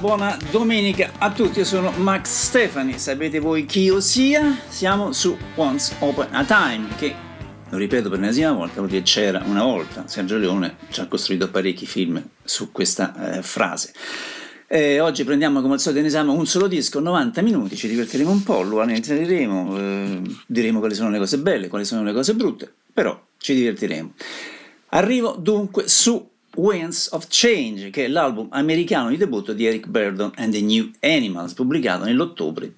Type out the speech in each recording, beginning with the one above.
buona domenica a tutti, io sono Max Stefani, sapete voi chi io sia? Siamo su Once Upon a Time, che, lo ripeto per l'ennesima volta, vuol dire c'era una volta. Sergio Leone ci ha costruito parecchi film su questa frase. Oggi prendiamo come al solito in esame un solo disco, 90 minuti, ci divertiremo un po', lo analizzeremo, diremo quali sono le cose belle, quali sono le cose brutte, però ci divertiremo. Arrivo dunque su Winds of Change, che è l'album americano di debutto di Eric Burdon and the New Animals, pubblicato nell'ottobre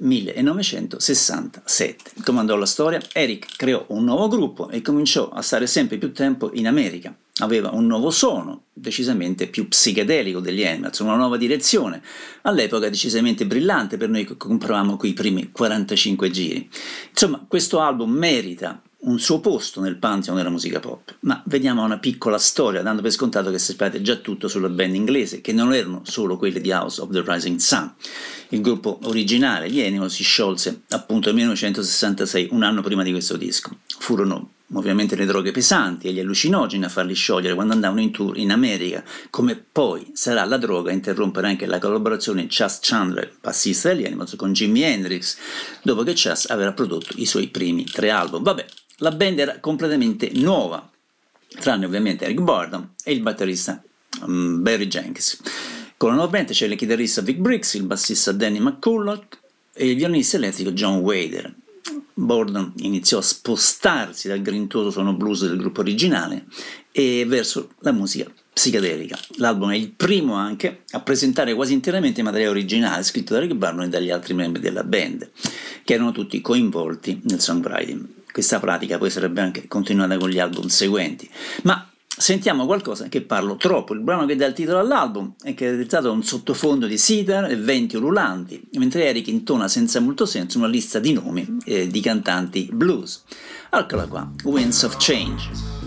1967. Come andò la storia? Eric creò un nuovo gruppo e cominciò a stare sempre più tempo in America. Aveva un nuovo suono, decisamente più psichedelico degli Animals, una nuova direzione, all'epoca decisamente brillante per noi che compravamo quei primi 45 giri. Insomma, questo album merita un suo posto nel pantheon della musica pop, ma vediamo una piccola storia, dando per scontato che sappiate già tutto sulla band inglese, che non erano solo quelle di House of the Rising Sun. Il gruppo originale, gli Animals, si sciolse appunto nel 1966, un anno prima di questo disco. Furono ovviamente le droghe pesanti e gli allucinogeni a farli sciogliere quando andavano in tour in America, come poi sarà la droga a interrompere anche la collaborazione Chas Chandler, bassista degli Animals, con Jimi Hendrix, dopo che Chas avrà prodotto i suoi primi 3 album. Vabbè, la band era completamente nuova, tranne ovviamente Eric Burdon e il batterista Barry Jenkins. Con la nuova band c'è il chitarrista Vic Briggs, il bassista Danny McCulloch e il violinista elettrico John Wader. Burdon iniziò a spostarsi dal grintoso suono blues del gruppo originale e verso la musica psichedelica. L'album è il primo anche a presentare quasi interamente materiale originale scritto da Eric Burdon e dagli altri membri della band, che erano tutti coinvolti nel songwriting. Questa pratica poi sarebbe anche continuata con gli album seguenti, ma sentiamo qualcosa che parlo troppo. Il brano che dà il titolo all'album è caratterizzato da un sottofondo di sitar e venti ululanti, mentre Eric intona senza molto senso una lista di nomi di cantanti blues. Eccola qua, Winds of Change.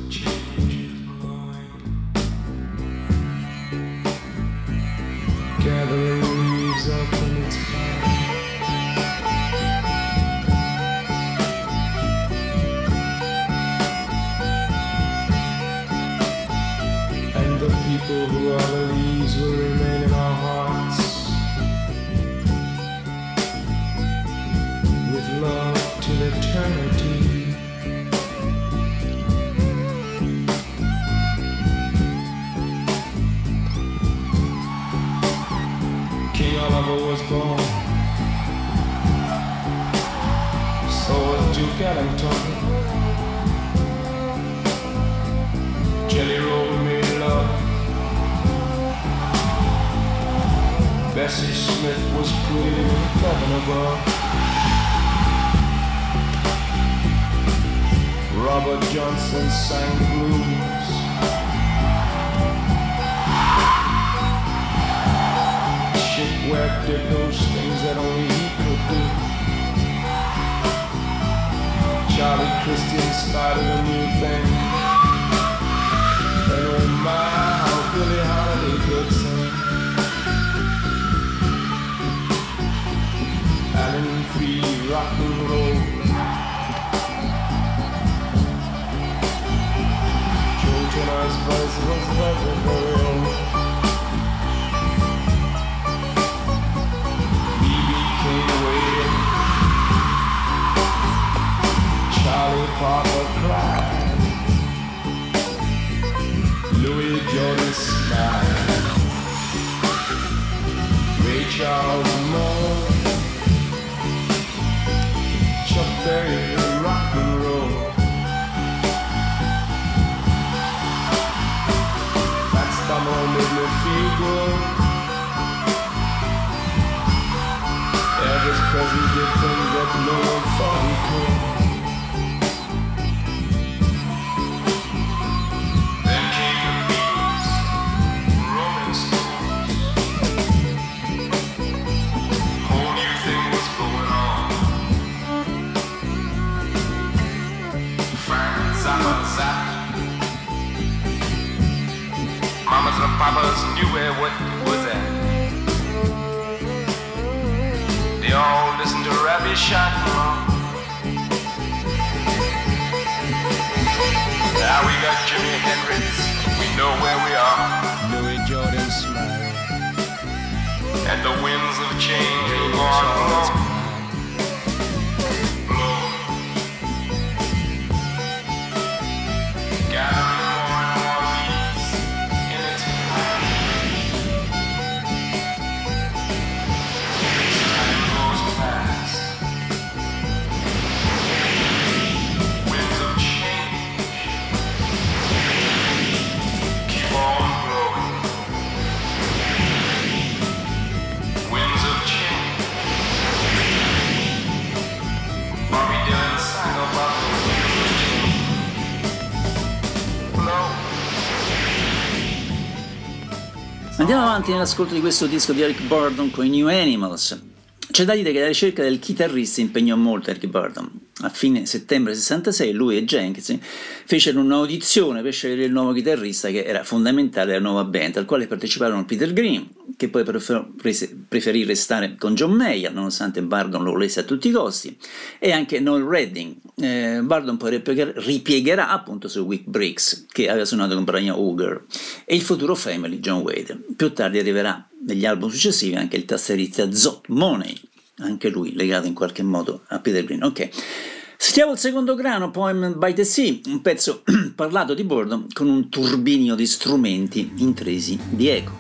People who are the leaves will remain in our hearts with love till eternity. King Oliver was born, so was Duke Ellington. Jelly Roll made love. Bessie Smith was pretty in heaven above. Robert Johnson sang blues. Shipwreck did those things that only he could do. Charlie Christian started a new thing. And oh my, how Billie Holiday could sing. Alan Free rock and roll. Joe Turner's voice was very, very old. B.B. King waited. Charlie Parker cried. Louis Jordan smiled. Ray Charles mourned. Chuck Berry rock and roll. Fats Domino made me feel good. Elvis Presley did things that no one thought he could. Then came the Beatles, Rolling Stones. Whole new thing was going on. Mamas and papas knew where what was at. They all listened to Ravi Shankar. Now we got Jimi Hendrix. We know where we are. Louis Jordan smiled. and the winds of change are gone. Andiamo avanti nell'ascolto di questo disco di Eric Burdon con i New Animals. C'è da dire che la ricerca del chitarrista impegnò molto Eric Burdon. A fine settembre 66 lui e Jenkins fecero un'audizione per scegliere il nuovo chitarrista che era fondamentale della nuova band, al quale parteciparono Peter Green, che poi preferì restare con John Mayer nonostante Burdon lo volesse a tutti i costi, e anche Noel Redding. Burdon poi ripiegherà appunto su Weak Bricks, che aveva suonato con Brian Auger, e il futuro Family John Wade. Più tardi arriverà negli album successivi anche il tastierista Zot Money, anche lui legato in qualche modo a Peter Green. Ok, stiamo al secondo grano, Poem by the Sea, un pezzo parlato di Burdon con un turbinio di strumenti intrisi di eco.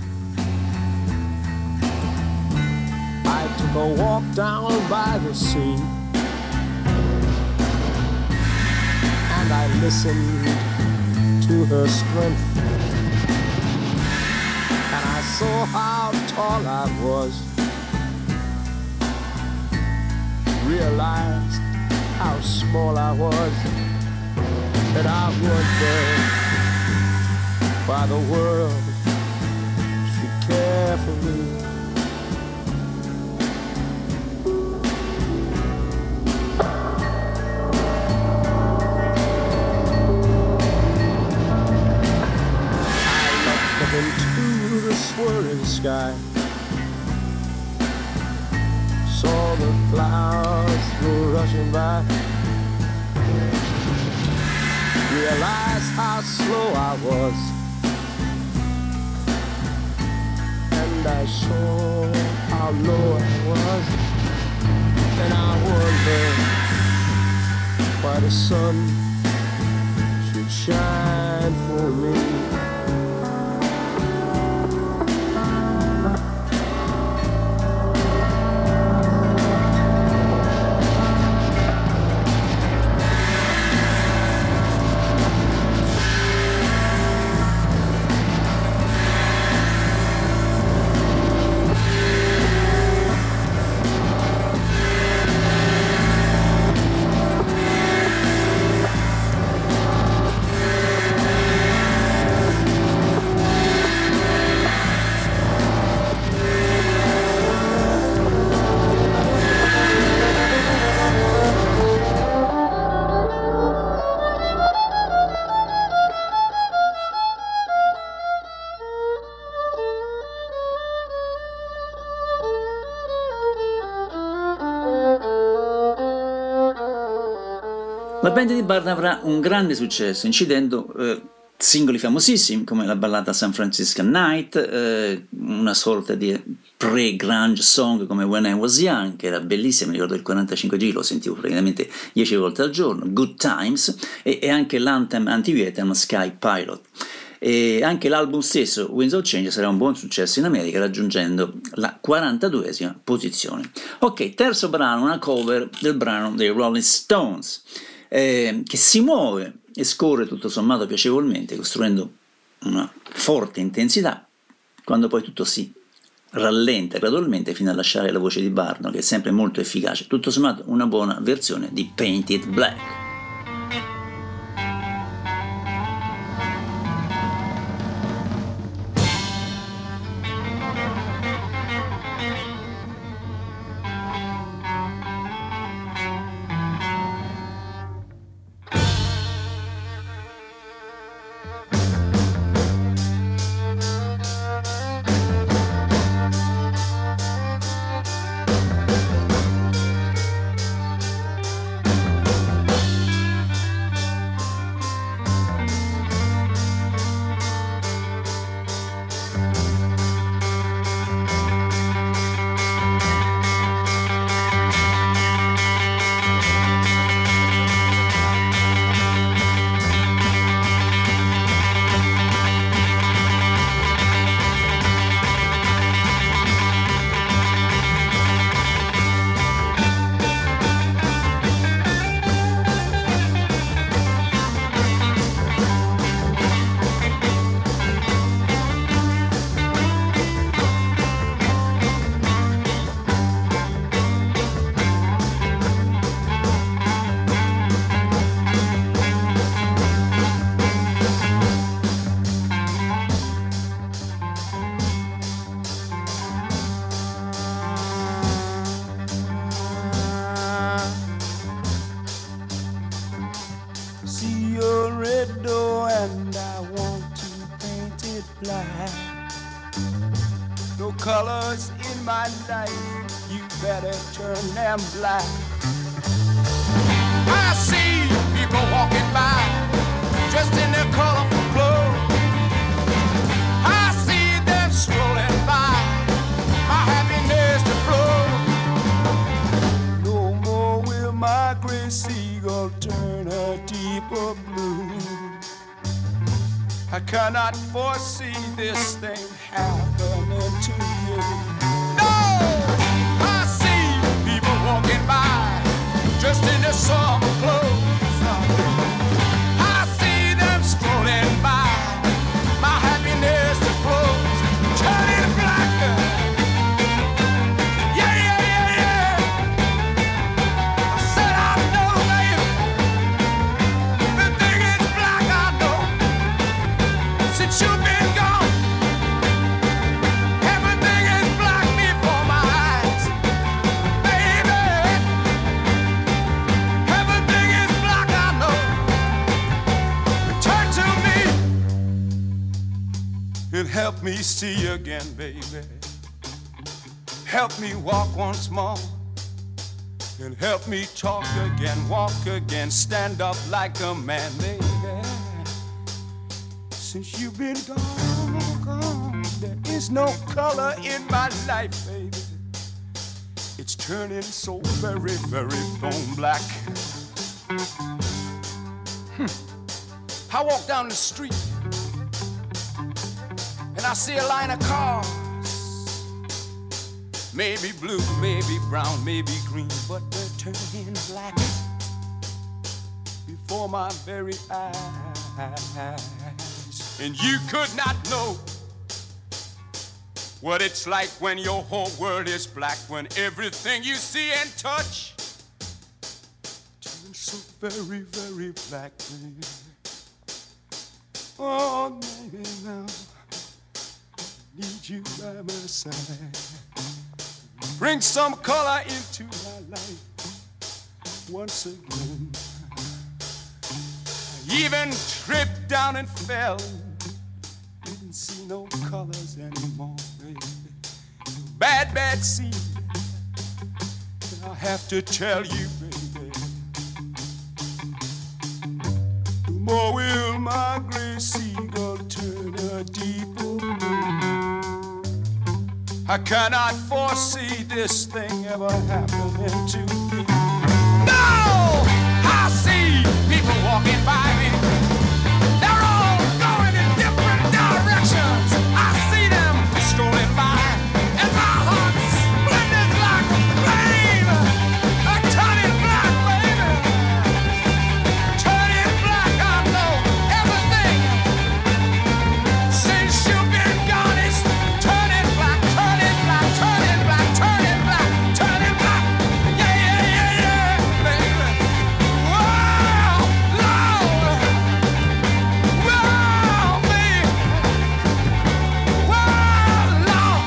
I took a walk down by the sea and I listened to her strength and I saw how tall I was, realized how small I was, and I wondered why the world should care for me. Into the swirling sky, saw the clouds go rushing by, realized how slow I was, and I saw how low I was, and I wondered why the sun should shine for me. La band di Burdon avrà un grande successo, incidendo singoli famosissimi come la ballata San Francisco Night, una sorta di pre-grunge song come When I Was Young, che era bellissima, mi ricordo il 45 giri, lo sentivo praticamente 10 volte al giorno, Good Times, e anche l'anthem anti-Vietnam Sky Pilot. E anche l'album stesso, Winds of Change, sarà un buon successo in America, raggiungendo la 42esima posizione. Ok, terzo brano, una cover del brano dei Rolling Stones, che si muove e scorre tutto sommato piacevolmente, costruendo una forte intensità, quando poi tutto si rallenta gradualmente fino a lasciare la voce di Burdon, che è sempre molto efficace. Tutto sommato una buona versione di Painted Black. you better turn them black. I see people walking by, dressed in their colorful clothes. I see them strolling by, my happiness to flow. No more will my gray seagull turn a deeper blue. I cannot foresee this thing happening to you. No! I see people walking by, dressed in their summer clothes. I see them strolling by, my happiness to flows, turning black. Yeah, yeah, yeah, yeah. I said I know, baby, everything is black, I know. Since you've been gone, everything is black before my eyes, baby. Everything is black, I know. Return to me and help me see again, baby. Help me walk once more and help me talk again, walk again, stand up like a man, baby. Since you've been gone, there is no color in my life, baby. It's turning so very, very bone black. I walk down the street and I see a line of cars. Maybe blue, maybe brown, maybe green, but they're turning black before my very eyes. And you could not know what it's like when your whole world is black, when everything you see and touch turns so very, very black, baby. Oh, baby, now I need you by my side. Bring some color into my life once again. I even tripped down and fell, didn't see no colors anymore, baby. Bad, bad scene, I have to tell you, baby. No more will my gray seagull turn a deeper blue. I cannot foresee this thing ever happening to me. No! I see people walking by me. They're all going in different directions. I see them strolling by, and my heart splinters like a flame. Turning black, baby. Turning black, I know everything. Since you've been gone, it's turning black, turning black, turning black, turning black, turning black. Yeah, yeah, yeah, yeah, baby. Wow, Lord. Wow, baby. Wow, Lord.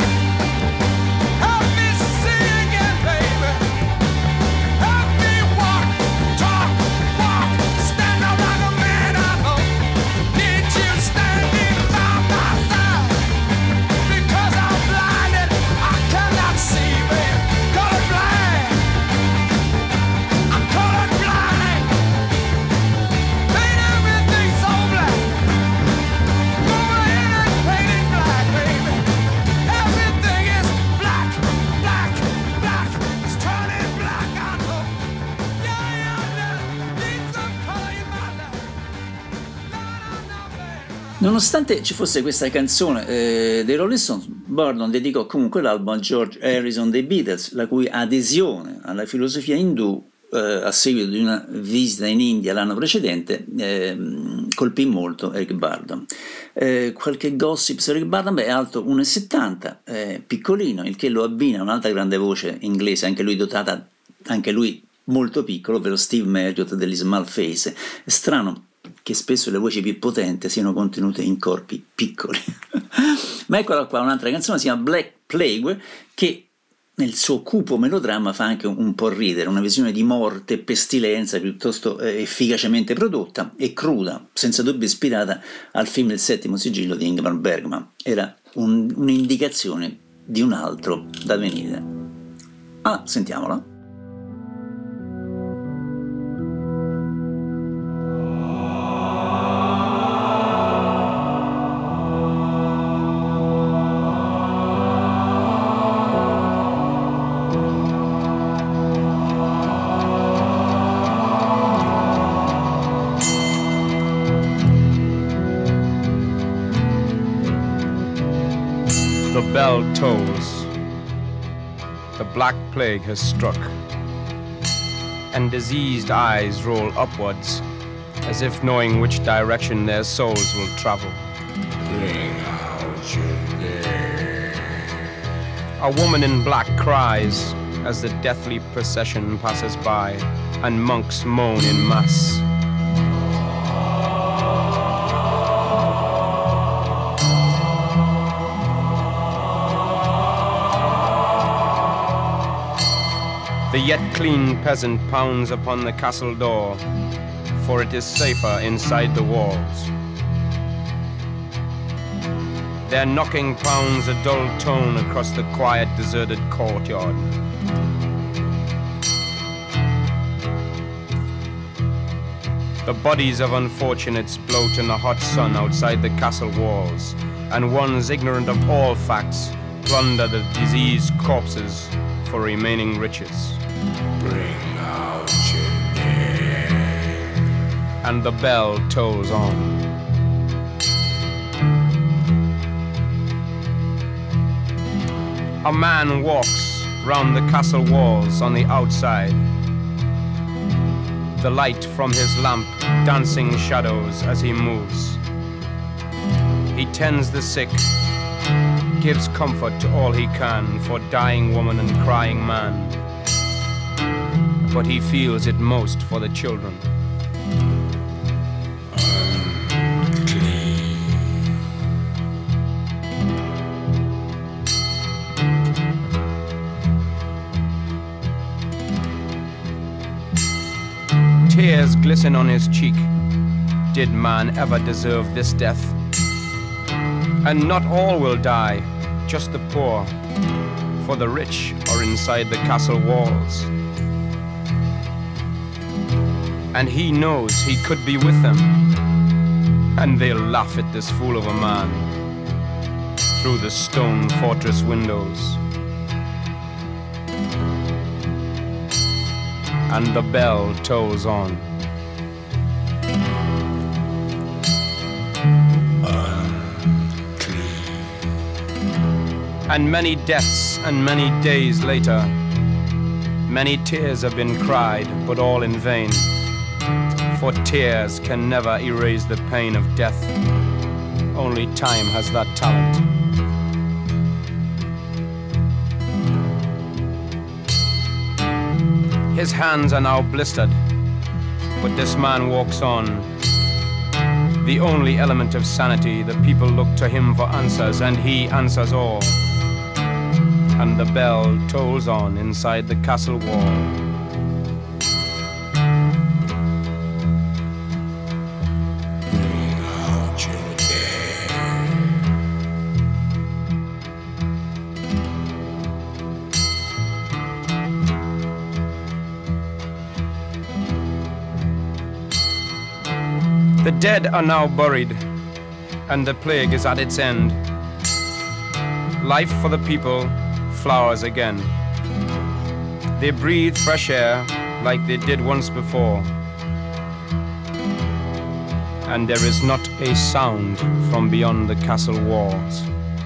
Help me see again, baby. Help me walk, talk, walk, stand up like a man I know. Need you standing by my side. Because I'm blinded, I cannot see, baby. Colorblind. I'm colorblind. Paint everything so black. Go ahead and paint it black, baby. Everything is black, black, black. It's turning black, I know. Yeah, yeah, yeah. Need some color in my life. No, baby. Nonostante ci fosse questa canzone dei Rolling Stones, Gordon dedicò comunque l'album a George Harrison dei Beatles, la cui adesione alla filosofia indù a seguito di una visita in India l'anno precedente colpì molto Eric Burdon. Qualche gossip su Eric Burdon: è alto 1,70, piccolino, il che lo abbina a un'altra grande voce inglese, anche lui dotata, anche lui molto piccolo, ovvero Steve Marriott degli Small Face. È strano che spesso le voci più potenti siano contenute in corpi piccoli. Ma eccola qua, un'altra canzone, si chiama Black Plague, che nel suo cupo melodramma fa anche un po' ridere, una visione di morte e pestilenza piuttosto efficacemente prodotta e cruda, senza dubbio ispirata al film Il settimo sigillo di Ingmar Bergman. Era un'indicazione di un altro da venire. Ah, sentiamola. The bell tolls. The black plague has struck, and diseased eyes roll upwards, as if knowing which direction their souls will travel. Bring out your dead. A woman in black cries as the deathly procession passes by, and monks moan in mass. The yet clean peasant pounds upon the castle door, for it is safer inside the walls. Their knocking pounds a dull tone across the quiet, deserted courtyard. The bodies of unfortunates bloat in the hot sun outside the castle walls, and ones ignorant of all facts plunder the diseased corpses for remaining riches. Bring out your dead. And the bell tolls on. A man walks round the castle walls on the outside, the light from his lamp dancing shadows as he moves. He tends the sick, gives comfort to all he can for dying woman and crying man, but he feels it most for the children. Tears glisten on his cheek. Did man ever deserve this death? And not all will die, just the poor, for the rich are inside the castle walls. And he knows he could be with them, and they'll laugh at this fool of a man through the stone fortress windows. And the bell tolls on. And many deaths and many days later, many tears have been cried, but all in vain. For tears can never erase the pain of death. Only time has that talent. His hands are now blistered, but this man walks on. The only element of sanity, the people look to him for answers, and he answers all. And the bell tolls on inside the castle wall. Bring out your dead. The dead are now buried, and the plague is at its end. Life for the people flowers again. They breathe fresh air like they did once before. And there is not a sound from beyond the castle walls.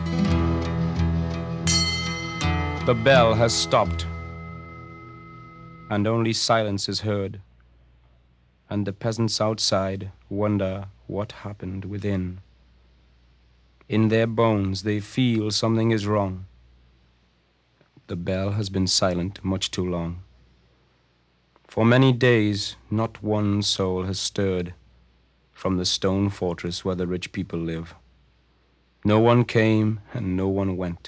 The bell has stopped, and only silence is heard. And the peasants outside wonder what happened within. In their bones they feel something is wrong. The bell has been silent much too long. For many days, not one soul has stirred from the stone fortress where the rich people live. No one came and no one went.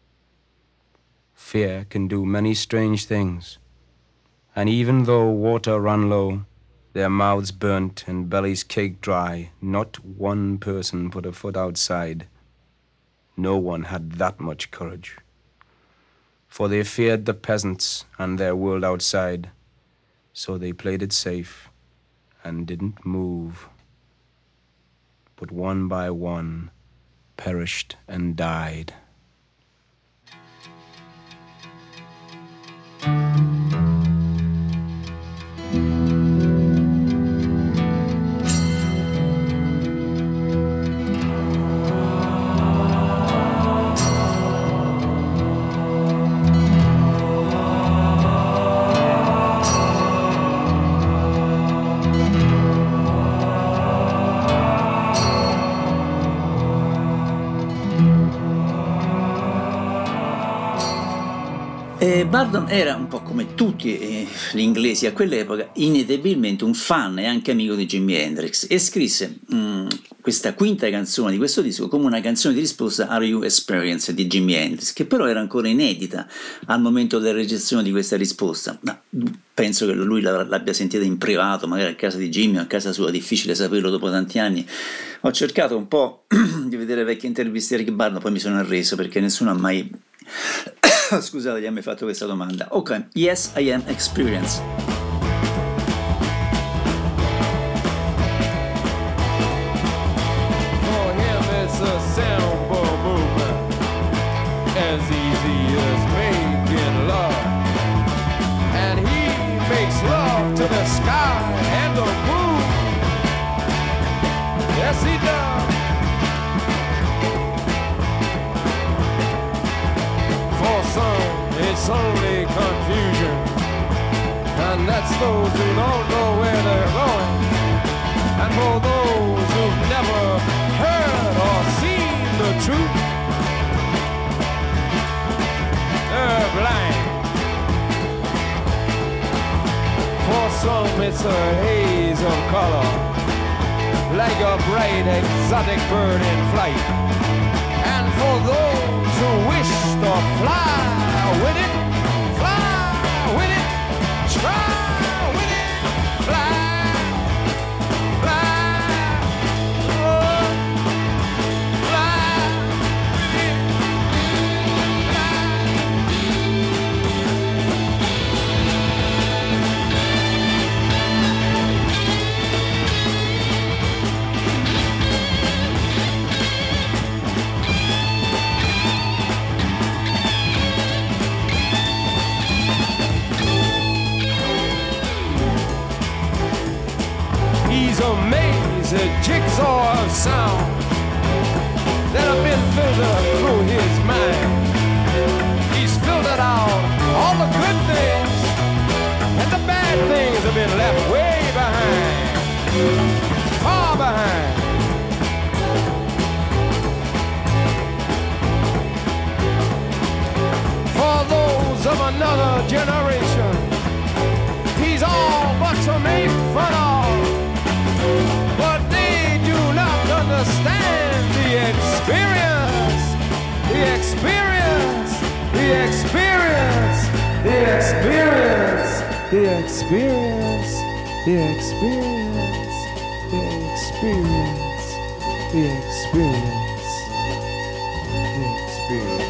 Fear can do many strange things, and even though water ran low, their mouths burnt and bellies caked dry, not one person put a foot outside. No one had that much courage. for they feared the peasants and their world outside, so they played it safe and didn't move. But one by one perished and died. Bardon era un po' come tutti gli inglesi a quell'epoca inevitabilmente un fan e anche amico di Jimi Hendrix e scrisse questa quinta canzone di questo disco come una canzone di risposta a Are You Experienced di Jimi Hendrix, che però era ancora inedita al momento della registrazione di questa risposta. Ma penso che lui l'abbia sentita in privato, magari a casa di Jimmy o a casa sua, difficile saperlo dopo tanti anni. Ho cercato un po' di vedere vecchie interviste di Eric Burdon, poi mi sono arreso perché nessuno ha mai scusate, gli ha mai fatto questa domanda. Ok, Yes, I Am Experienced. For him it's a simple movement, as easy as making love. And he makes love to the sky and the moon. Yes, he does. For some, it's only confusion, and that's those who don't know where they're going. And for those who've never heard or seen the truth, they're blind. For some, it's a haze of color, like a bright exotic bird in flight. And for those who wish to fly with it, fly with it, try with it, fly, fly, oh, fly with it, He's a maze, a jigsaw of sound that have been filtered through his mind. He's filtered out all the good things, and the bad things have been left way behind, far behind. For those of another generation, he's all but to make fun of. But they do not understand the experience, the experience, the experience, the experience, the experience, the experience, the experience, the experience, the experience.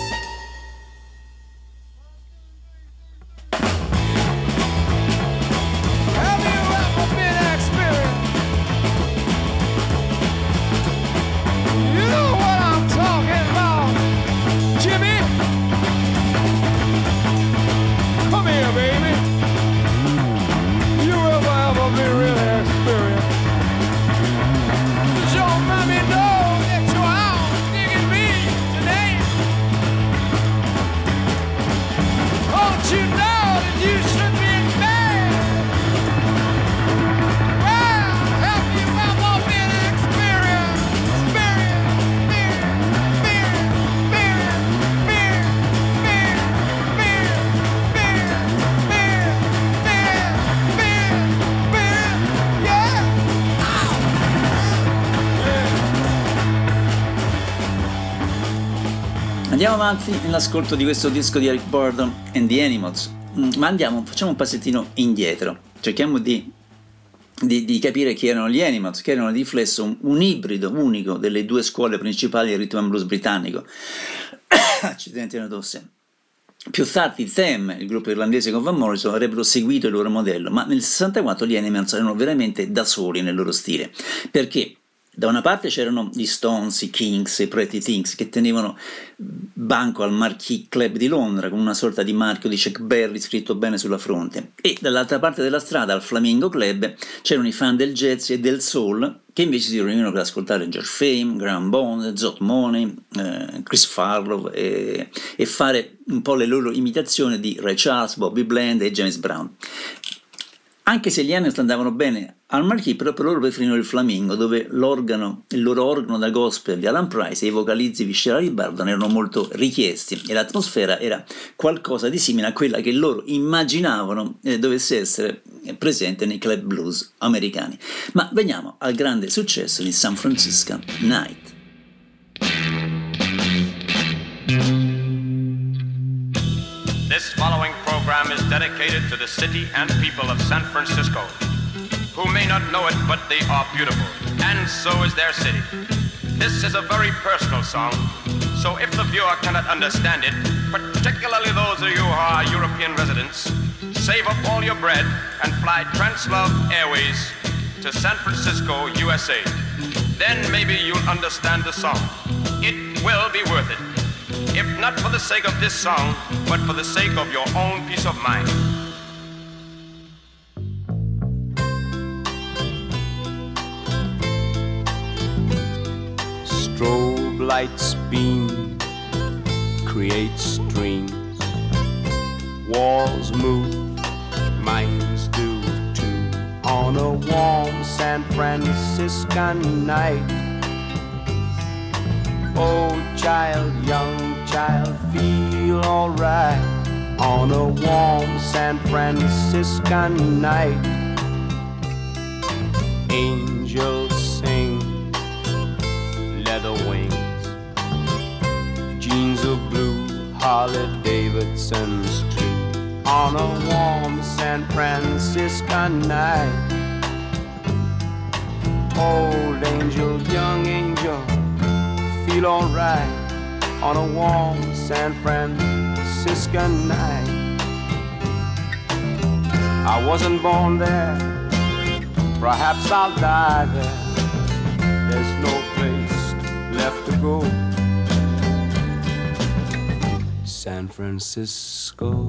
Have you ever been experienced? You know what I'm talking about, Jimmy? Come here, baby. You ever been really experienced? Does your mommy know that you're out digging me today? Don't you know that you should be in bed? Well, have you ever been experienced? Andiamo avanti nell'ascolto di questo disco di Eric Burdon and the Animals, ma facciamo un passettino indietro, cerchiamo di capire chi erano gli Animals, che erano di riflesso un ibrido unico delle due scuole principali del rhythm and blues britannico. Accidenti, una tosse. Più tardi Them, il gruppo irlandese con Van Morrison, avrebbero seguito il loro modello, ma nel 64 gli Animals erano veramente da soli nel loro stile. Perché? Da una parte c'erano gli Stones, i Kings, i Pretty Things che tenevano banco al Marquee Club di Londra con una sorta di marchio di Chuck Berry scritto bene sulla fronte, e dall'altra parte della strada al Flamingo Club c'erano i fan del jazz e del soul che invece si riunivano per ascoltare George Fame, Graham Bond, Zot Money, Chris Farlow e fare un po' le loro imitazioni di Ray Charles, Bobby Bland e James Brown. Anche se gli Animals andavano bene al Marquee, però per loro preferivano il Flamingo, dove il loro organo da gospel di Alan Price e i vocalizzi viscerali di Bardon erano molto richiesti e l'atmosfera era qualcosa di simile a quella che loro immaginavano dovesse essere presente nei club blues americani. Ma veniamo al grande successo di San Francisco Night. This following program is dedicated to the city and people of San Francisco, who may not know it, but they are beautiful, and so is their city. This is a very personal song, so if the viewer cannot understand it, particularly those of you who are European residents, save up all your bread and fly Translove Airways to San Francisco, USA. Then maybe you'll understand the song. It will be worth it. If not for the sake of this song, but for the sake of your own peace of mind. Strobe lights beam, create streams. Walls move, minds do too. On a warm San Francisco night. Old child, young child, feel alright on a warm San Francisco night. Angels sing, leather wings, jeans of blue, Harley Davidson's too. On a warm San Francisco night. Old angel, young angel, feel alright on a warm San Francisco night. I wasn't born there, perhaps I'll die there. There's no place left to go. San Francisco.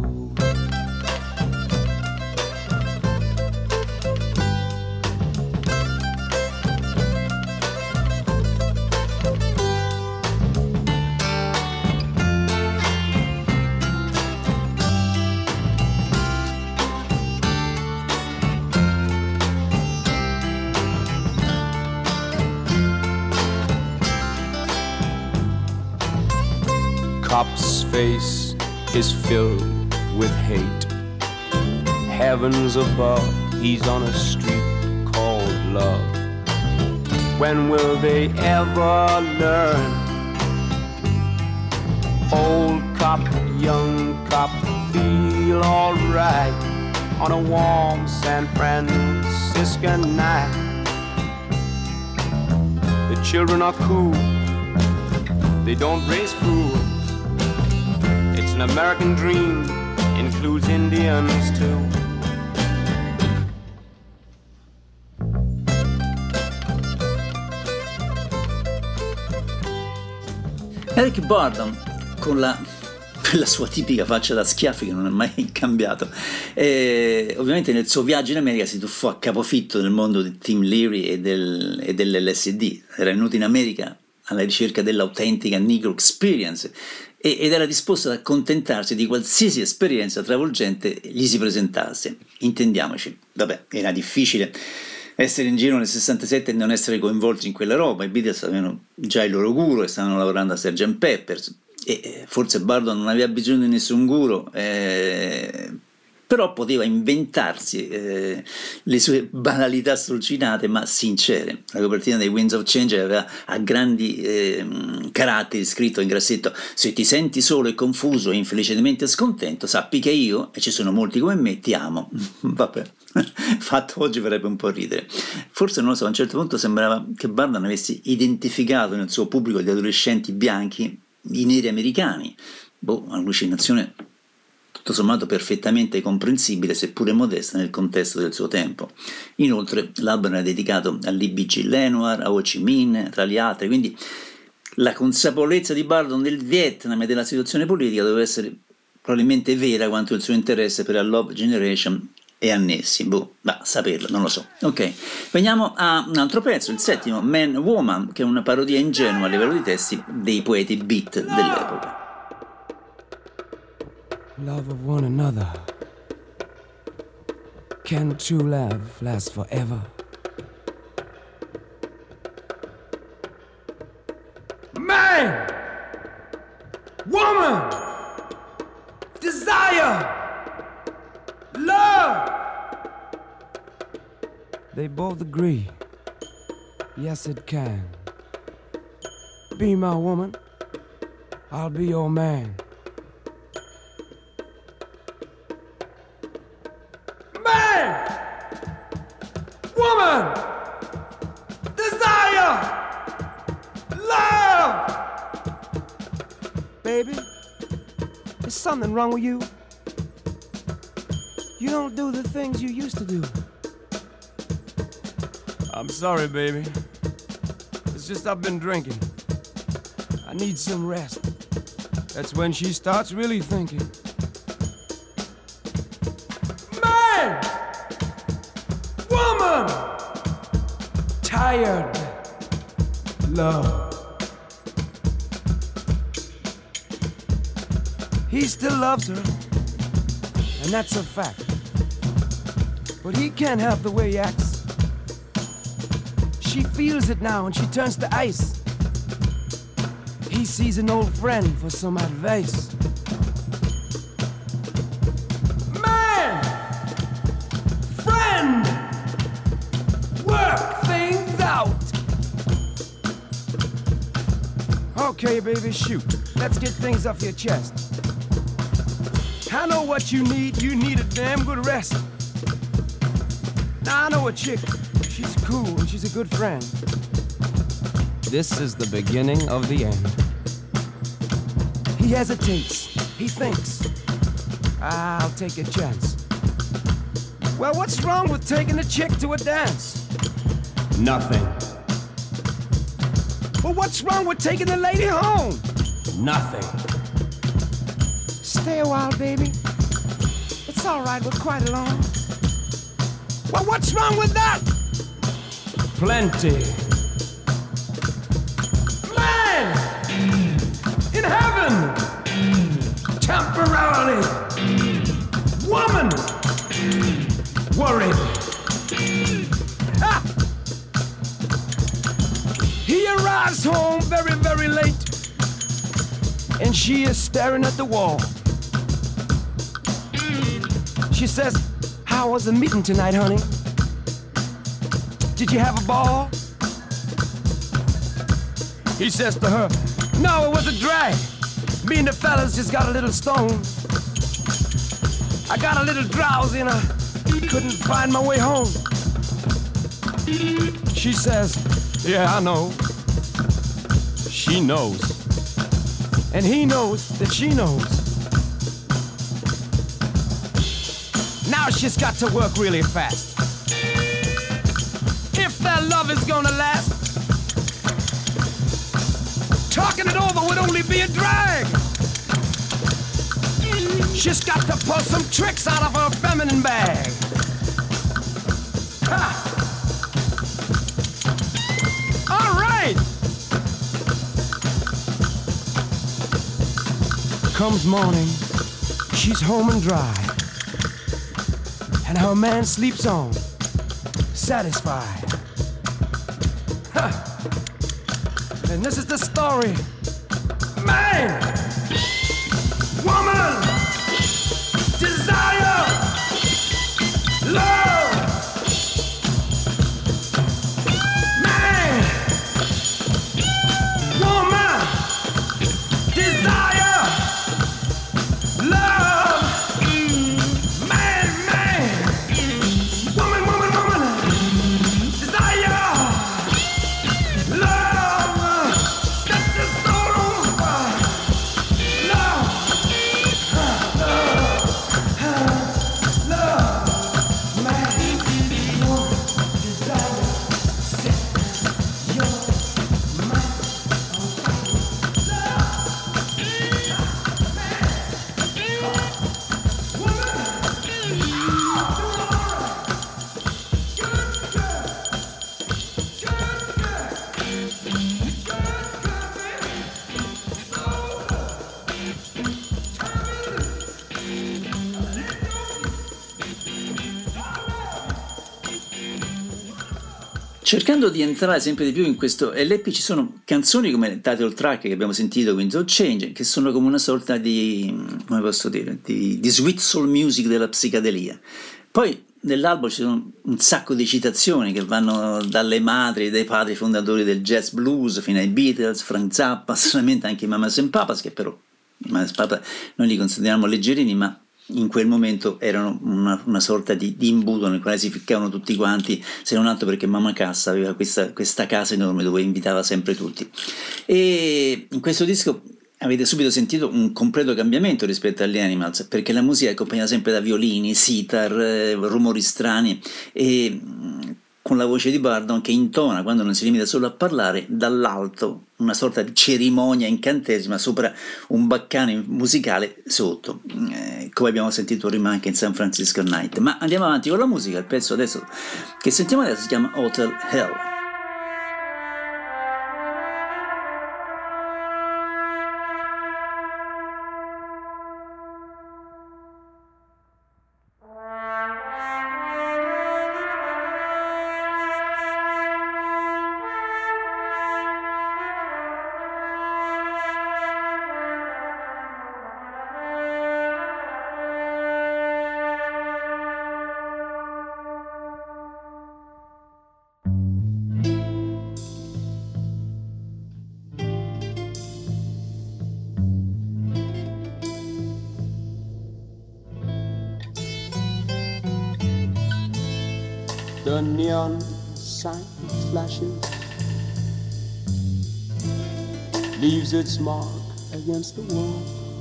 Cop's face is filled with hate. Heavens above, he's on a street called love. When will they ever learn? Old cop, young cop, feel alright on a warm San Francisco night. The children are cool, they don't raise fools. It's an American dream, includes Indians too. Eric Burdon, con la sua tipica faccia da schiaffi che non è mai cambiato, ovviamente nel suo viaggio in America si tuffò a capofitto nel mondo di Tim Leary e dell'LSD. Era venuto in America alla ricerca dell'autentica Negro Experience ed era disposto ad accontentarsi di qualsiasi esperienza travolgente gli si presentasse. Intendiamoci, vabbè, era difficile essere in giro nel 67 e non essere coinvolti in quella roba. I Beatles avevano già il loro guru e stavano lavorando a Sgt. Pepper's, e forse Burdon non aveva bisogno di nessun guru, però poteva inventarsi le sue banalità strocinate ma sincere. La copertina dei Winds of Change aveva a grandi caratteri scritto in grassetto: se ti senti solo e confuso e infelicemente scontento, sappi che io, e ci sono molti come me, ti amo. Vabbè, fatto oggi farebbe un po' ridere. Forse, non lo so, a un certo punto sembrava che Burdon avesse identificato nel suo pubblico di adolescenti bianchi i neri americani. Boh, allucinazione tutto sommato perfettamente comprensibile, seppure modesta nel contesto del suo tempo. Inoltre l'album era dedicato a Lee B.G. Lenoir, a Ho Chi Minh, tra gli altri, quindi la consapevolezza di Bardon del Vietnam e della situazione politica doveva essere probabilmente vera quanto il suo interesse per la Love Generation e annessi, va a saperlo, non lo so. Ok, veniamo a un altro pezzo, il settimo, Man Woman, che è una parodia ingenua a livello di testi dei poeti beat dell'epoca. Love of one another. Can true love last forever? Man, woman, desire, love. They both agree. Yes, it can. Be my woman, I'll be your man. Man, woman, desire, love. Baby, is something wrong with you? You don't do the things you used to do. I'm sorry, baby. It's just I've been drinking. I need some rest. That's when she starts really thinking. Man! Woman! Tired. Love. He still loves her, and that's a fact. But he can't help the way he acts. She feels it now and she turns to ice. He sees an old friend for some advice. Man! Friend! Work things out! Okay, baby, shoot. Let's get things off your chest. I know what you need. You need a damn good rest. Now I know a chick. She's cool and she's a good friend. This is the beginning of the end. He hesitates. He thinks. I'll take a chance. Well, what's wrong with taking a chick to a dance? Nothing. Well, what's wrong with taking the lady home? Nothing. Stay a while, baby. It's all right, we're quite alone. Well, what's wrong with that? Plenty. Man! In heaven! Temporarily! Woman! Worried! Ah! He arrives home very, very late, and she is staring at the wall. She says, "How was the meeting tonight, honey? Did you have a ball?" He says to her, "No, it was a drag. Me and the fellas just got a little stoned. I got a little drowsy and I couldn't find my way home." She says, "Yeah, I know." She knows. And he knows that she knows. Now she's got to work really fast. If their love is gonna last, talking it over would only be a drag. She's got to pull some tricks out of her feminine bag. Ha! All right. Comes morning, she's home and dry, and her man sleeps on, satisfied. Huh. And this is the story. Man! Woman! Desire! Love! Man! Woman! Desire! Love! Man, man! Woman, woman, woman! Desire! Love! Set your soul on fire! Cercando di entrare sempre di più in questo LP ci sono canzoni come il title track che abbiamo sentito, Winds of Change, che sono come una sorta di, come posso dire, di sweet soul music della psichedelia. Poi nell'album ci sono un sacco di citazioni che vanno dalle madri e dai padri fondatori del jazz blues fino ai Beatles, Frank Zappa, solamente anche i Mamas and Papas, che però i Mamas and Papas noi li consideriamo leggerini, ma in quel momento erano una sorta di imbuto nel quale si ficcavano tutti quanti, se non altro perché Mamma Cassa aveva questa casa enorme dove invitava sempre tutti. E in questo disco avete subito sentito un completo cambiamento rispetto agli Animals, perché la musica è accompagnata sempre da violini, sitar, rumori strani e con la voce di Bardon che intona, quando non si limita solo a parlare, dall'alto una sorta di cerimonia incantesima sopra un baccano musicale sotto, come abbiamo sentito prima anche in San Francisco Night. Ma andiamo avanti con la musica. Il pezzo adesso che sentiamo adesso si chiama Hotel Hell. The neon sign flashes, leaves its mark against the wall.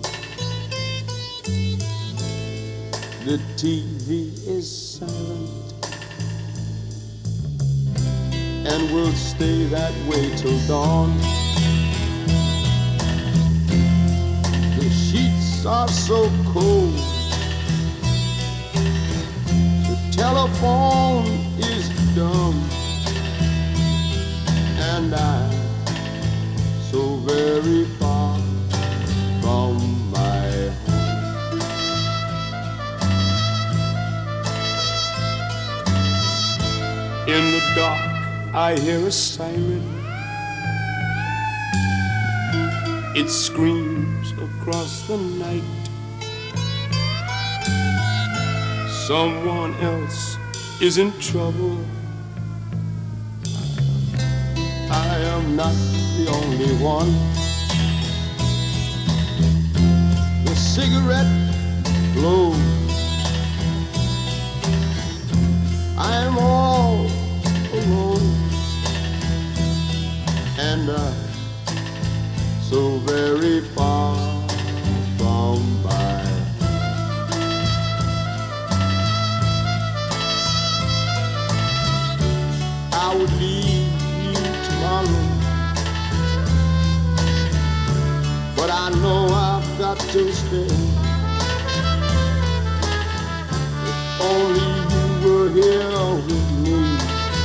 The TV is silent and will stay that way till dawn. The sheets are so cold, the telephone is dumb, and I'm so very far from my home. In the dark I hear a siren. It screams across the night. Someone else is in trouble. I am not the only one. The cigarette blows. I am all alone, and I'm so very far from my I would leave you tomorrow, but I know I've got to stay. If only you were here with me.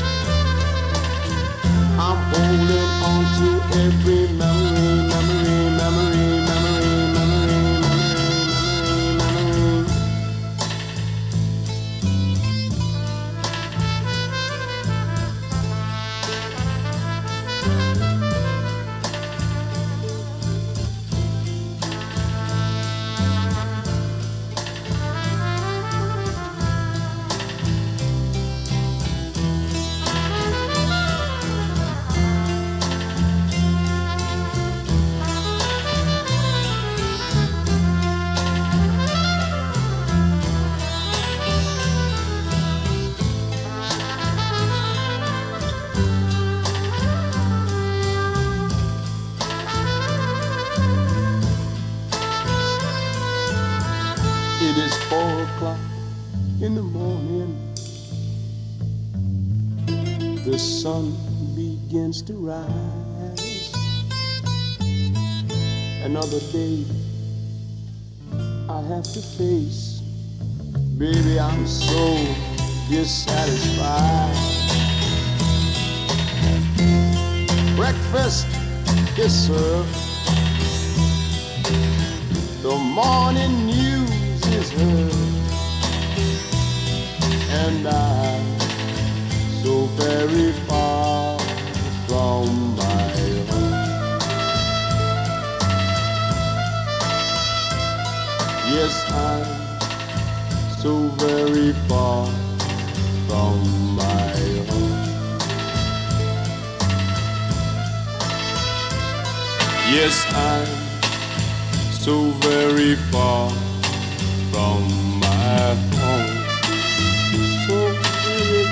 I'm holding on to every memory, memory, memory, memory, memory, memory, memory, memory. It is 4 o'clock in the morning. The sun begins to rise. Another day I have to face. Baby, I'm so dissatisfied. Breakfast is served. The morning news is heard, and I'm so very far from my home. Yes, I'm so very far from my home. Yes, I'm so very far from my home. So very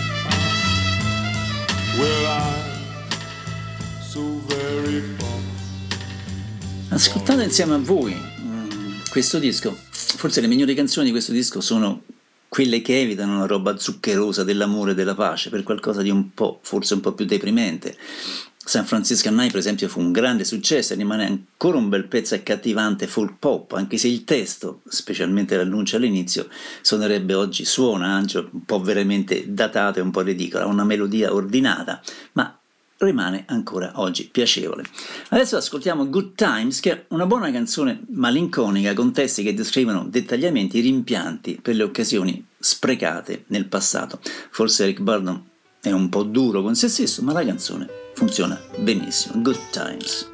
far. Well, I'm so very far. Ascoltate insieme a voi questo disco. Forse le migliori canzoni di questo disco sono quelle che evitano la roba zuccherosa dell'amore e della pace, per qualcosa di un po', forse un po' più deprimente. San Francisco Night, per esempio, fu un grande successo e rimane ancora un bel pezzo accattivante folk pop, anche se il testo, specialmente l'annuncio all'inizio, suona anche un po' veramente datato e un po' ridicolo, ha una melodia ordinata, ma rimane ancora oggi piacevole. Adesso ascoltiamo Good Times, che è una buona canzone malinconica con testi che descrivono dettagliamente i rimpianti per le occasioni sprecate nel passato. Forse Eric Burdon è un po' duro con se stesso, ma la canzone funziona benissimo. Good Times.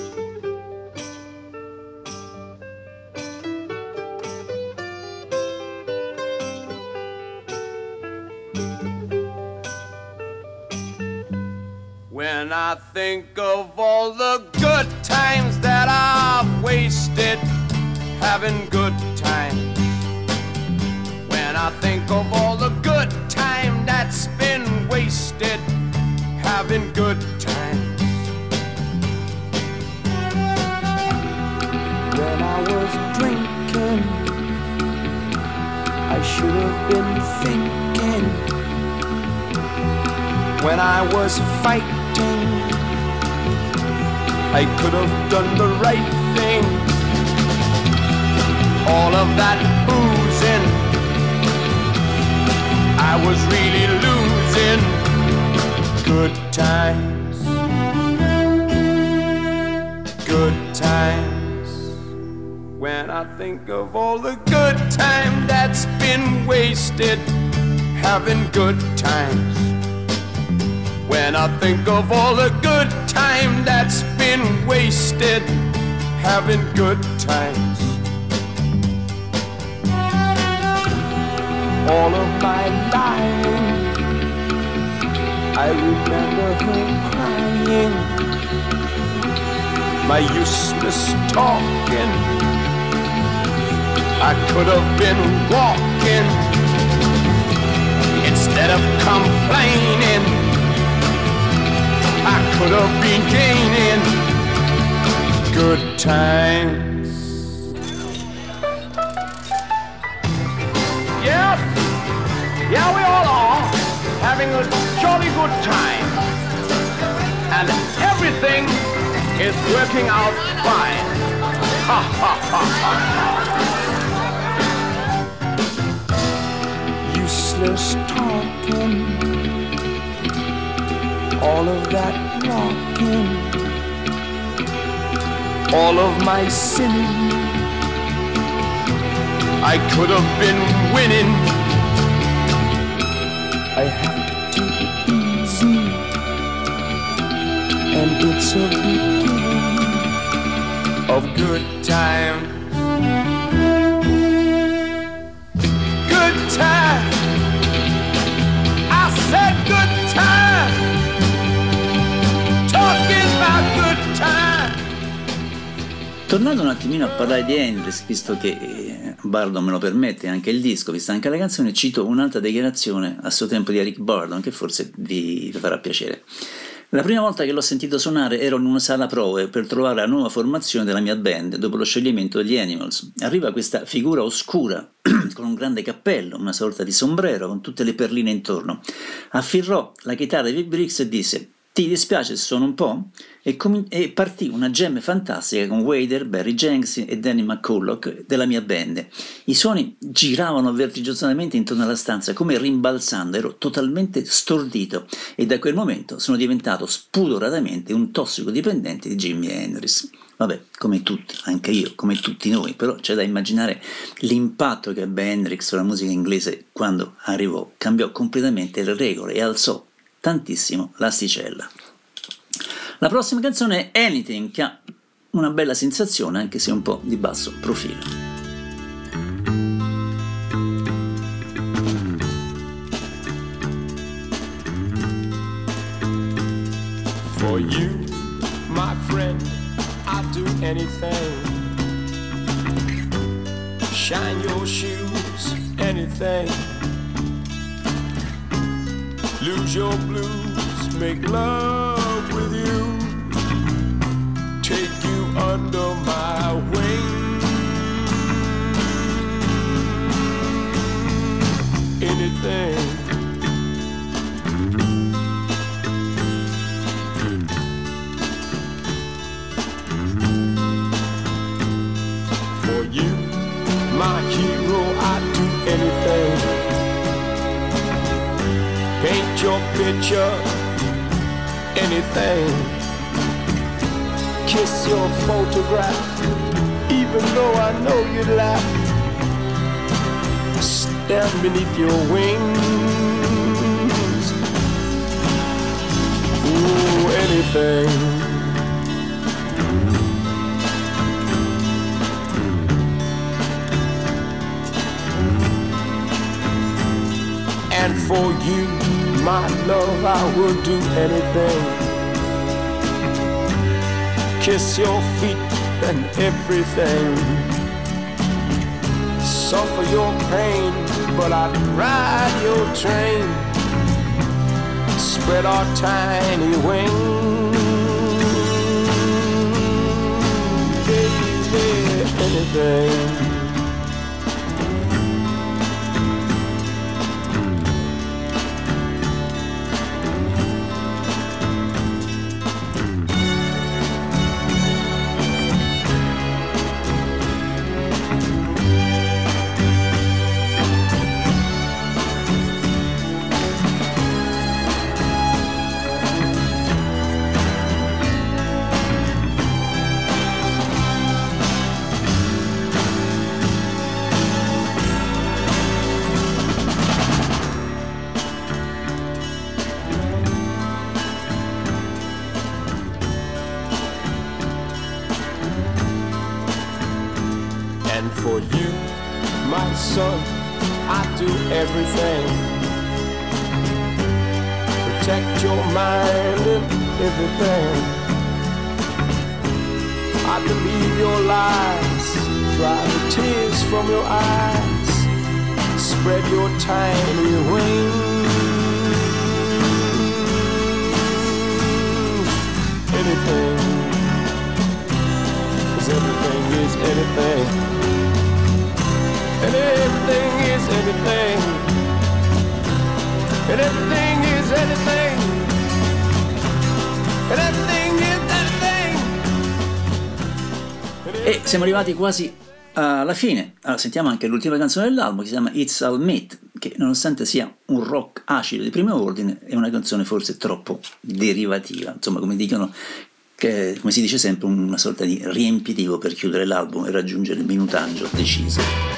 When I think of all the good times that I've wasted having good times. When I think of all the good time that's been wasted having good times. When I was drinking, I should have been thinking. When I was fighting, I could have done the right thing. All of that boozing, I was really losing. Good times, good times. When I think of all the good time that's been wasted having good times. When I think of all the good time that's been wasted having good times. All of my lying, I remember her crying. My useless talking, I could have been walking instead of complaining. I could have been gaining good times. Yes, yeah, we all are having a jolly good time, and everything is working out fine. Ha ha ha ha. Useless talking, all of that rocking, all of my sinning, I could have been winning. I have to be easy, and it's a beginning Of good time. Good time. I said good time. Talking about good time. Tornando un attimino a parlare di Hendrix, visto che Burdon me lo permette, anche il disco, vista anche la canzone, cito un'altra dichiarazione a suo tempo di Eric Burdon che forse vi farà piacere. La prima volta che l'ho sentito suonare ero in una sala prove per trovare la nuova formazione della mia band dopo lo scioglimento degli Animals. Arriva questa figura oscura con un grande cappello, una sorta di sombrero con tutte le perline intorno. Afferrò la chitarra di Vic Briggs e disse: "Ti dispiace se suono un po'?" E partì una jam fantastica con Wader, Barry Jenks e Danny McCulloch della mia band. I suoni giravano vertiginosamente intorno alla stanza come rimbalzando, ero totalmente stordito e da quel momento sono diventato spudoratamente un tossicodipendente di Jimi Hendrix. Vabbè, come tutti, anche io, come tutti noi, però c'è da immaginare l'impatto che ebbe Hendrix sulla musica inglese quando arrivò, cambiò completamente le regole e alzò tantissimo l'asticella. La prossima canzone è Anything, che ha una bella sensazione anche se un po' di basso profilo. For you, my friend, I'd do anything. Shine your shoes, anything. Lose your blues, make love with you. Take you under my wing. Anything. For you, my hero, I'd do anything. Paint your picture, anything. Kiss your photograph, even though I know you'd laugh. Stand beneath your wings. Ooh, anything. And for you, my love, I would do anything. Kiss your feet and everything. Suffer your pain, but I'd ride your train. Spread our tiny wings. Baby, anything. For you, my son, I do everything. Protect your mind and everything. I believe your lies, dry the tears from your eyes. Spread your tiny wings. Anything, 'cause everything is anything. And everything is anything. And everything is anything. And everything is anything. E siamo arrivati quasi alla fine. Allora, sentiamo anche l'ultima canzone dell'album, che si chiama It's All Meat, che nonostante sia un rock acido di primo ordine, è una canzone forse troppo derivativa. Insomma, come dicono, che, come si dice sempre, una sorta di riempitivo per chiudere l'album e raggiungere il minutaggio deciso.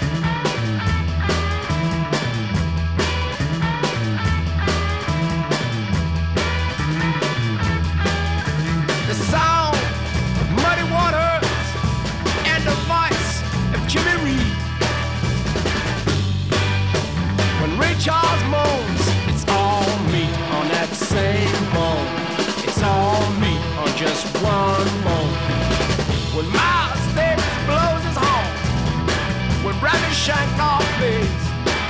Charles moans, it's all meat on that same bone. It's all meat on just one bone. When Miles Davis blows his horn, when Bradley Shankoff plays,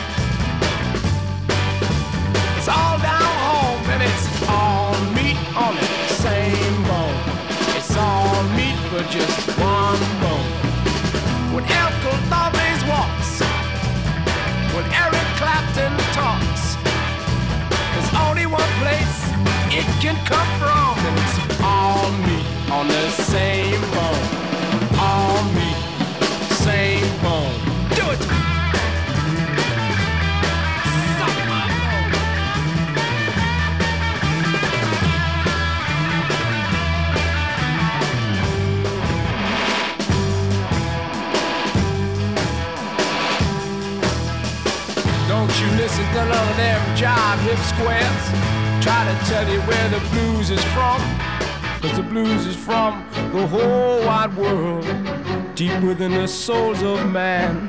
it's all down home and it's all meat on that same bone. It's all meat but just one bone. When Elko Thornberry walks, when Eric Clapton talks, there's only one place it can come from, and it's all meat on the same bone. All meat, same bone. Do it! Suck my bone. Don't you listen to none of them jive hip squares. try to tell you where the blues is from, 'cause the blues is from the whole wide world, deep within the souls of man.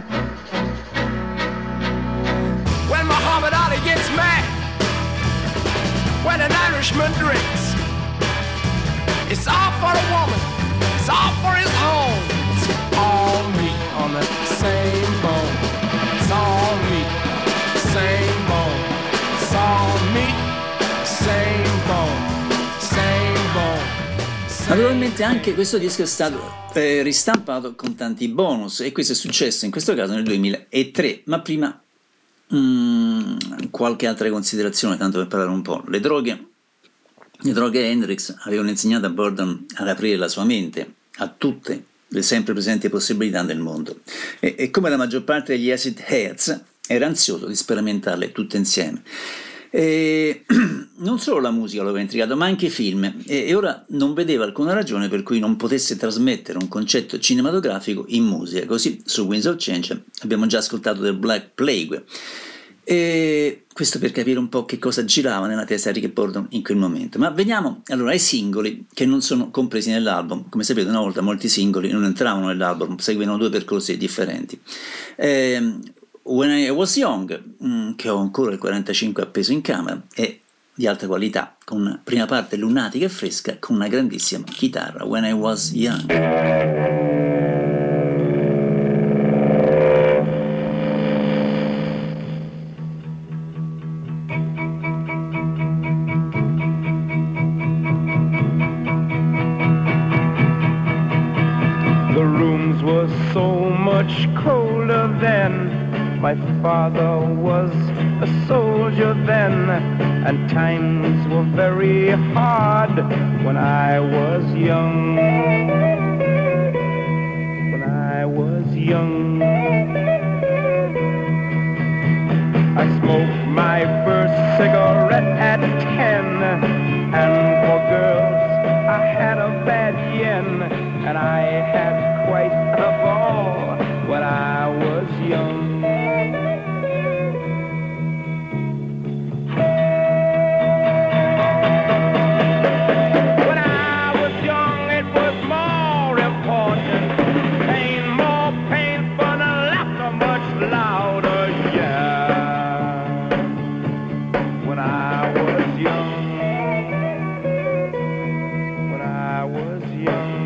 When Muhammad Ali gets mad, when an Irishman drinks, it's all for the woman, it's all for his home. It's all meat on the same bone. It's all meat, same bone. It's all meat, same bone, same bone. Naturalmente anche questo disco è stato ristampato con tanti bonus, e questo è successo in questo caso nel 2003, ma prima qualche altra considerazione, tanto per parlare un po'. Le droghe Hendrix avevano insegnato a Burton ad aprire la sua mente a tutte le sempre presenti possibilità del mondo, e come la maggior parte degli acid heads era ansioso di sperimentarle tutte insieme. E non solo la musica lo aveva intrigato, ma anche i film, e ora non vedeva alcuna ragione per cui non potesse trasmettere un concetto cinematografico in musica. Così su Winds of Change abbiamo già ascoltato del Black Plague, e questo per capire un po' che cosa girava nella testa di Rick Burton in quel momento. Ma veniamo allora ai singoli che non sono compresi nell'album. Come sapete, una volta molti singoli non entravano nell'album, seguivano due percorsi differenti. When I Was Young, che ho ancora il 45 appeso in camera, è di alta qualità, con una prima parte lunatica e fresca, con una grandissima chitarra. When I Was Young. Colder then. My father was a soldier then, and times were very hard when I was young. When I was young, I smoked my first cigarette at 10, and for girls I had a bad yen, and I had quite a ball when I was young. When I was young, it was more important, pain more painful, and laughter much louder, yeah. When I was young, when I was young.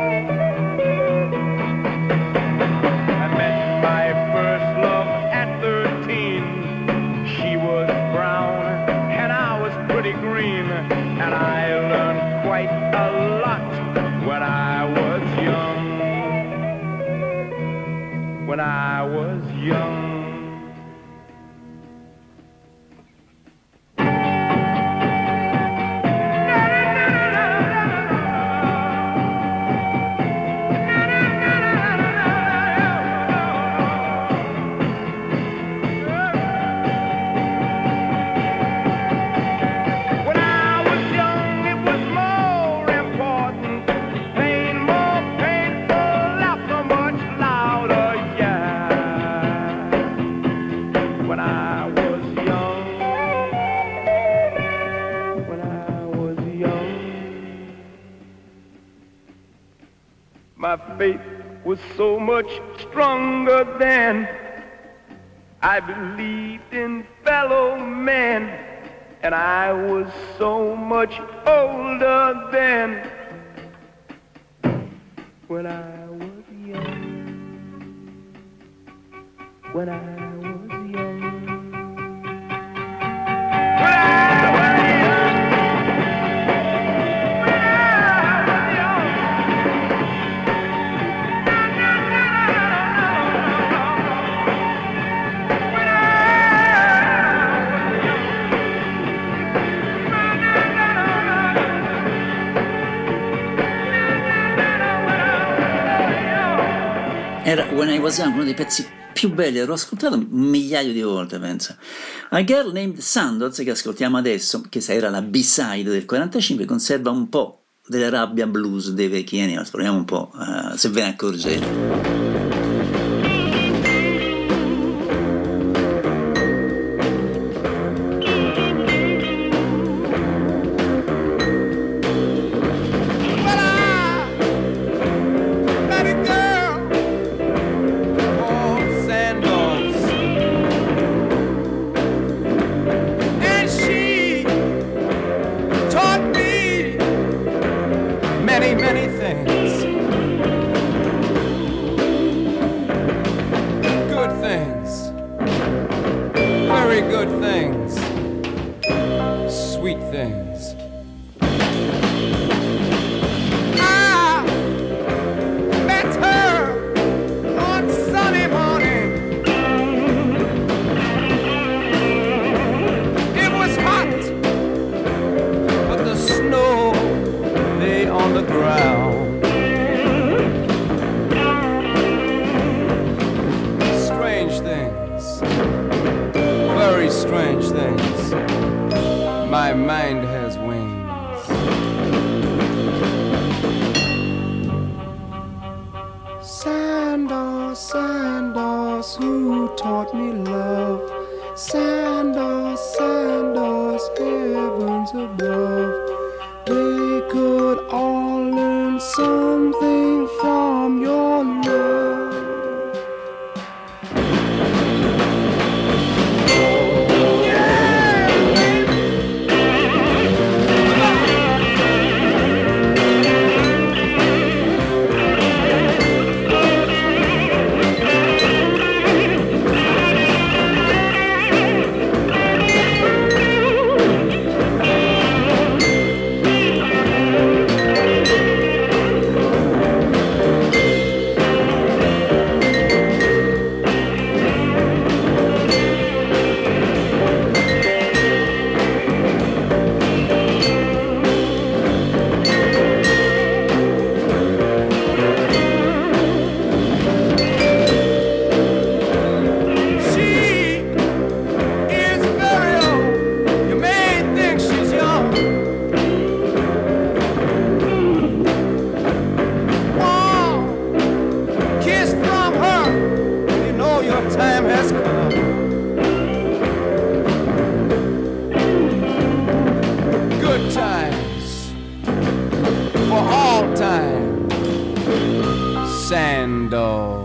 And I learned quite a lot when I was young. When I was young. My faith was so much stronger then. I believed in fellow men, and I was so much older then. When I was young, when I was young, when I was young. Era When I Was Young, uno dei pezzi più belli, l'ho ascoltato un migliaio di volte, penso. A Girl Named Sandoz, che ascoltiamo adesso, che era la B-side del 45, conserva un po' della rabbia blues dei vecchi Animals. Proviamo un po' se ve ne accorgete. very good things, sweet things. I met her on Sunday morning. It was hot, But the snow lay on the ground. Strange things, very strange things. My mind has wings. Sandals, sandals, who taught me love? Sandals, sandals, heavens above. They could all learn something from your love. she is very old. You may think she's young. One kiss from her, and you know your time has come. Good times for all time. Sandals.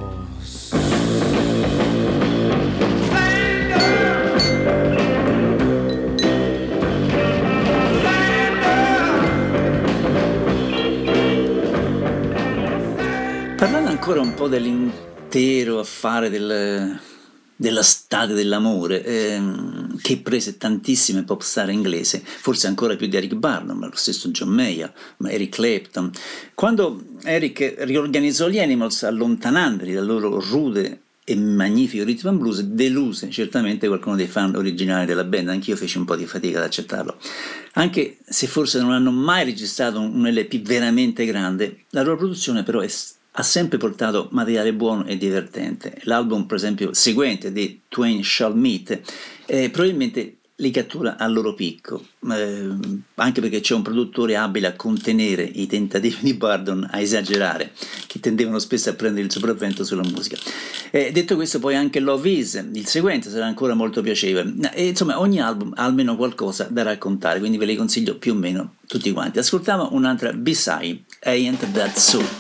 Parlando ancora un po' dell'intero affare della state dell'amore, che prese tantissime pop star inglese, forse ancora più di Eric Burdon, ma lo stesso John Mayer, ma Eric Clapton. Quando Eric riorganizzò gli Animals, allontanandoli dal loro rude e magnifico rhythm and blues, deluse certamente qualcuno dei fan originali della band. Anch'io feci un po' di fatica ad accettarlo, anche se forse non hanno mai registrato un LP veramente grande. La loro produzione però ha sempre portato materiale buono e divertente. L'album, per esempio, seguente, The Twain Shall Meet, probabilmente li cattura al loro picco, anche perché c'è un produttore abile a contenere i tentativi di Burdon a esagerare, che tendevano spesso a prendere il sopravvento sulla musica. Detto questo, poi anche Love Is, il seguente, sarà ancora molto piacevole. E, insomma, ogni album ha almeno qualcosa da raccontare, quindi ve li consiglio più o meno tutti quanti. Ascoltiamo un'altra B-side, Ain't That So.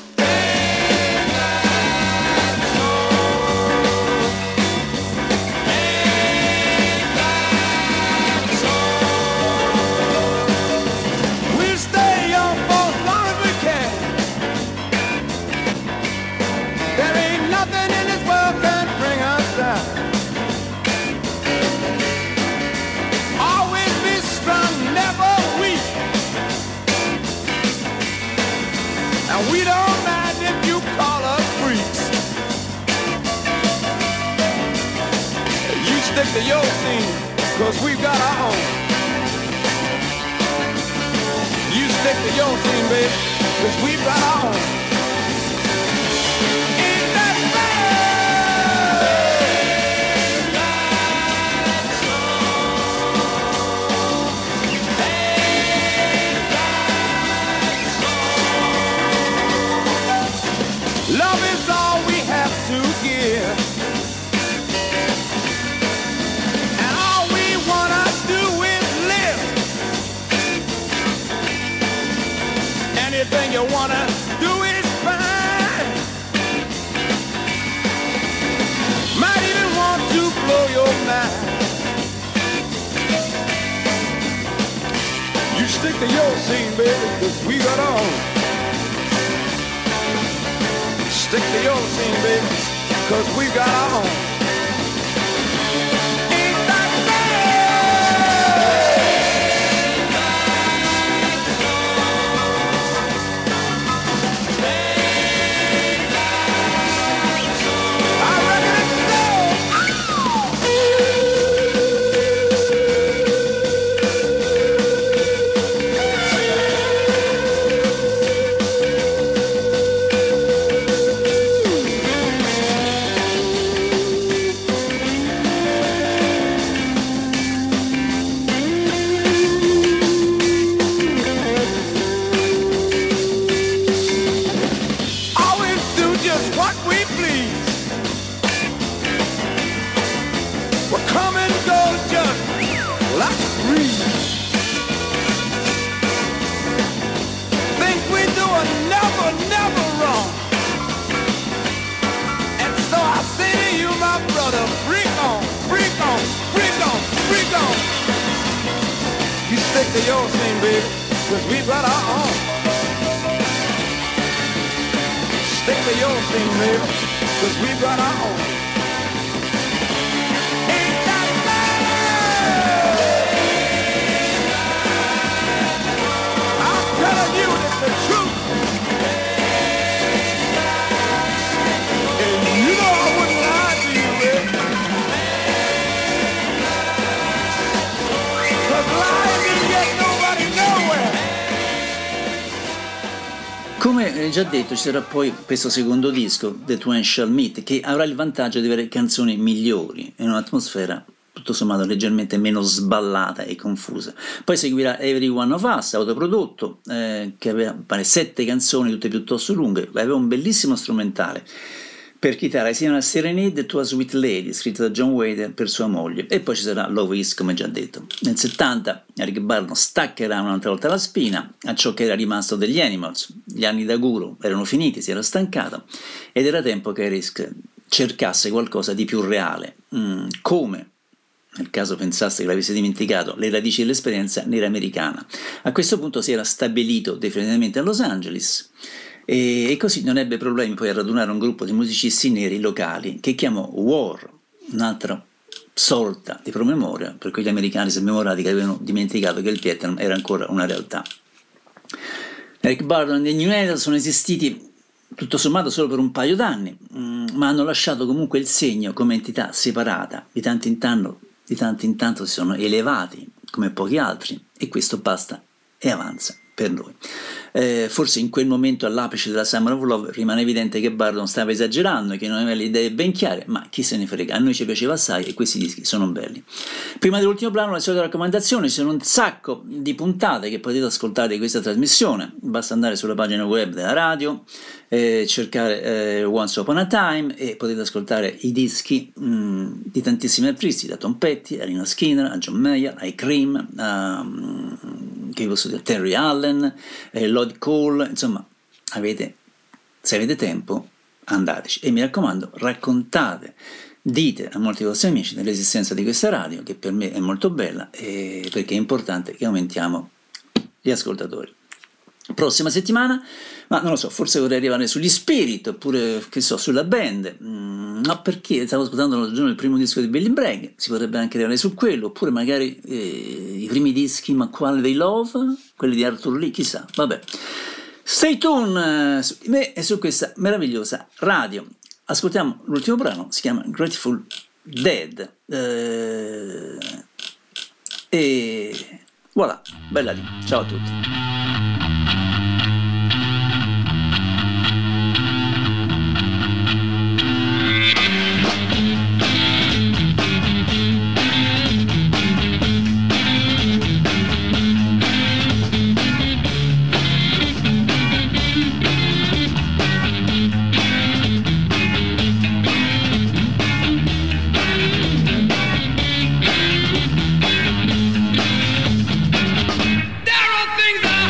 We'll stay young for as long as we can. There ain't nothing in this world can bring us down. Always be strong, never weak. And we don't mind if you call us freaks. You stick to your scene, 'cause we've got our own. You stick to your scene, baby, 'cause we've got our own. Ain't that right? Love is all we have to give. And all we wanna do is live. Anything you wanna do is fine. Might even want to blow your mind. You stick to your scene, baby, 'cause we got our own. Stick to your scene, baby, 'cause we got our own. Ain't that bad? to your scene, baby, 'cause we've got our own. Stick to your scene, baby, 'cause we've got our own. Ain't that love? I'm telling you it's the truth. And you know I wouldn't lie to you, baby. 'Cause lying didn't get nobody nowhere. Come già detto, ci sarà poi questo secondo disco, The Twain Shall Meet, che avrà il vantaggio di avere canzoni migliori in un'atmosfera tutto sommato leggermente meno sballata e confusa. Poi seguirà Every One of Us, autoprodotto, che aveva pare 7 canzoni, tutte piuttosto lunghe, aveva un bellissimo strumentale per chitarra, sia una Serenade to a Sweet Lady, scritta da John Wader per sua moglie, e poi ci sarà Love Is, come già detto. Nel 70 Eric Burdon staccherà un'altra volta la spina a ciò che era rimasto degli Animals. Gli anni da guru erano finiti, si era stancato, ed era tempo che Eric cercasse qualcosa di più reale, come, nel caso pensaste che l'avesse dimenticato, le radici dell'esperienza nera americana. A questo punto si era stabilito definitivamente a Los Angeles, e così non ebbe problemi poi a radunare un gruppo di musicisti neri locali che chiamò War, un'altra sorta di promemoria per quegli americani smemorati che avevano dimenticato che il Vietnam era ancora una realtà. Eric Burdon e New Idol sono esistiti tutto sommato solo per un paio d'anni, ma hanno lasciato comunque il segno come entità separata. Di tanto in tanto si sono elevati come pochi altri, e questo basta e avanza per noi. Forse in quel momento, all'apice della Summer of Love, rimane evidente che Burdon stava esagerando e che non aveva le idee ben chiare, ma chi se ne frega, a noi ci piaceva assai e questi dischi sono belli. Prima dell'ultimo brano, le solite raccomandazioni: ci sono un sacco di puntate che potete ascoltare di questa trasmissione, basta andare sulla pagina web della radio, cercare Once Upon a Time, e potete ascoltare i dischi di tantissimi artisti, da Tom Petty a Lynyrd Skynyrd a John Mayer, ai Cream, che posso dire, Terry Allen, Lloyd Cole, insomma, se avete tempo andateci, e mi raccomando, raccontate, dite a molti vostri amici dell'esistenza di questa radio, che per me è molto bella, perché è importante che aumentiamo gli ascoltatori. Prossima settimana, ma non lo so, forse vorrei arrivare sugli Spirit, oppure che so, sulla band, ma perché stavo ascoltando l'altro giorno il primo disco di Billy Bragg, si potrebbe anche arrivare su quello, oppure magari i primi dischi, ma quale dei Love, quelli di Arthur Lee, chissà, vabbè. Stay tuned su di me e su questa meravigliosa radio. Ascoltiamo l'ultimo brano, si chiama Grateful Dead, e voilà, bella lì, ciao a tutti. There are things I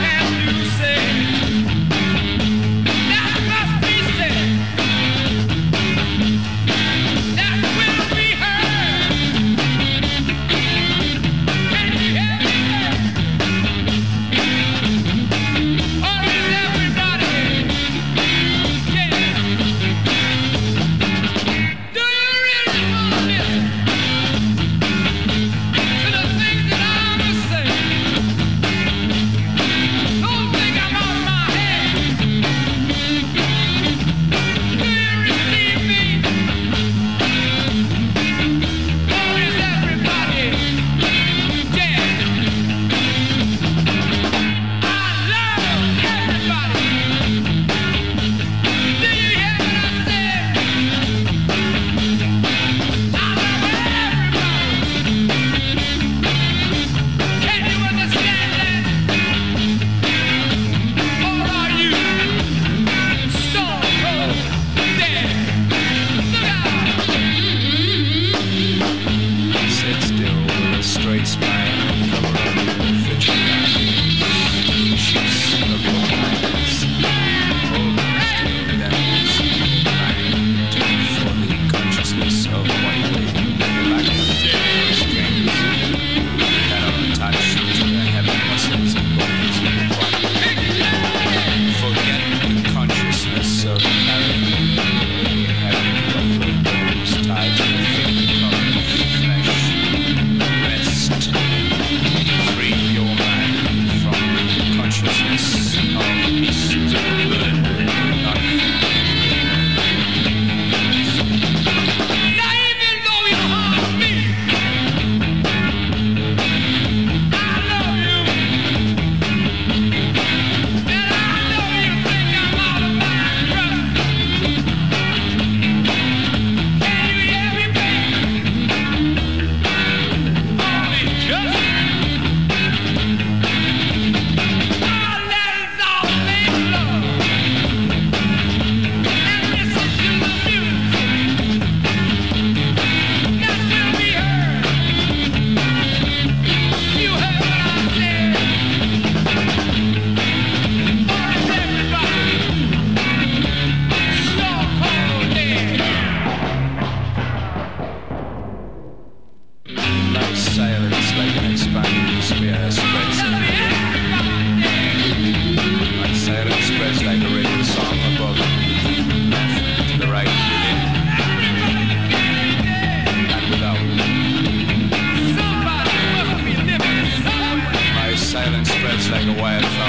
spreads. My silence spreads like a radio song above, left to the right, within and without. My silence spreads like a wildfire.